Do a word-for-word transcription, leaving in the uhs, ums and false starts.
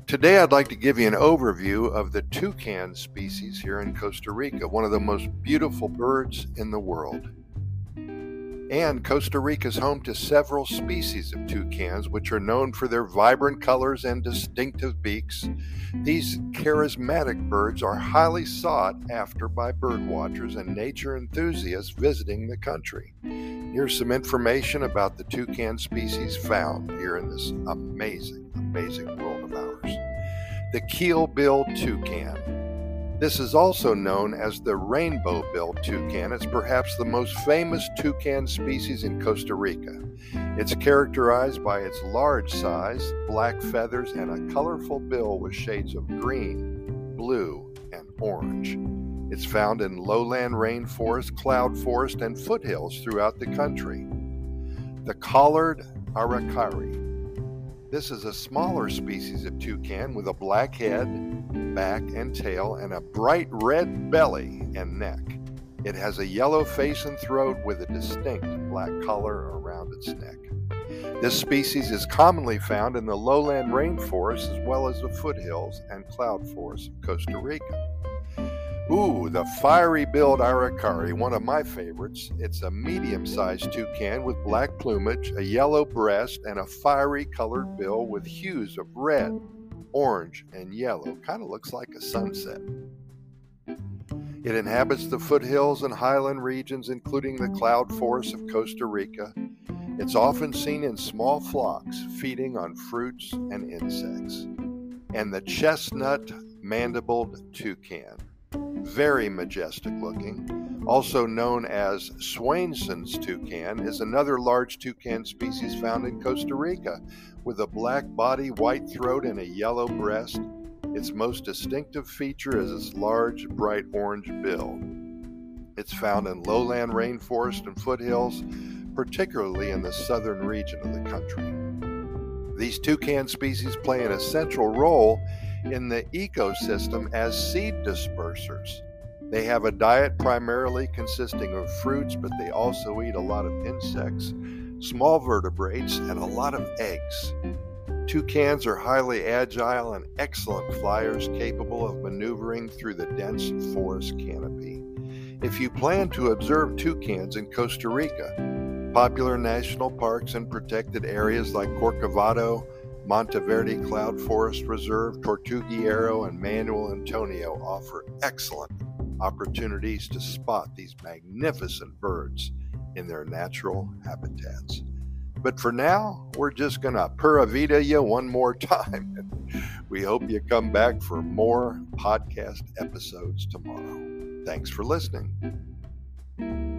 Today I'd like to give you an overview of the toucan species here in Costa Rica, one of the most beautiful birds in the world. And Costa Rica is home to several species of toucans, which are known for their vibrant colors and distinctive beaks. These charismatic birds are highly sought after by birdwatchers and nature enthusiasts visiting the country. Here's some information about the toucan species found here in this amazing, amazing world of ours. The keel-billed toucan. This is also known as the rainbow-billed toucan. It's perhaps the most famous toucan species in Costa Rica. It's characterized by its large size, black feathers, and a colorful bill with shades of green, blue, and orange. It's found in lowland rainforest, cloud forest, and foothills throughout the country. The collared aracari. This is a smaller species of toucan with a black head, back, and tail, and a bright red belly and neck. It has a yellow face and throat with a distinct black collar around its neck. This species is commonly found in the lowland rainforests as well as the foothills and cloud forests of Costa Rica. Ooh, the fiery-billed aracari, one of my favorites. It's a medium-sized toucan with black plumage, a yellow breast, and a fiery-colored bill with hues of red, orange, and yellow. Kind of looks like a sunset. It inhabits the foothills and highland regions, including the cloud forests of Costa Rica. It's often seen in small flocks, feeding on fruits and insects. And the chestnut mandibled toucan. Very majestic looking, also known as Swainson's toucan, is another large toucan species found in Costa Rica with a black body, white throat, and a yellow breast. Its most distinctive feature is its large, bright orange bill. It's found in lowland rainforest and foothills, particularly in the southern region of the country. These toucan species play an essential role in the ecosystem as seed dispersers. They have a diet primarily consisting of fruits, but they also eat a lot of insects, small vertebrates, and a lot of eggs. Toucans are highly agile and excellent flyers, capable of maneuvering through the dense forest canopy. If you plan to observe toucans in Costa Rica, popular national parks and protected areas like Corcovado, Monteverde Cloud Forest Reserve, Tortuguero, and Manuel Antonio offer excellent opportunities to spot these magnificent birds in their natural habitats. But for now, we're just going to pura vida you one more time. We hope you come back for more podcast episodes tomorrow. Thanks for listening.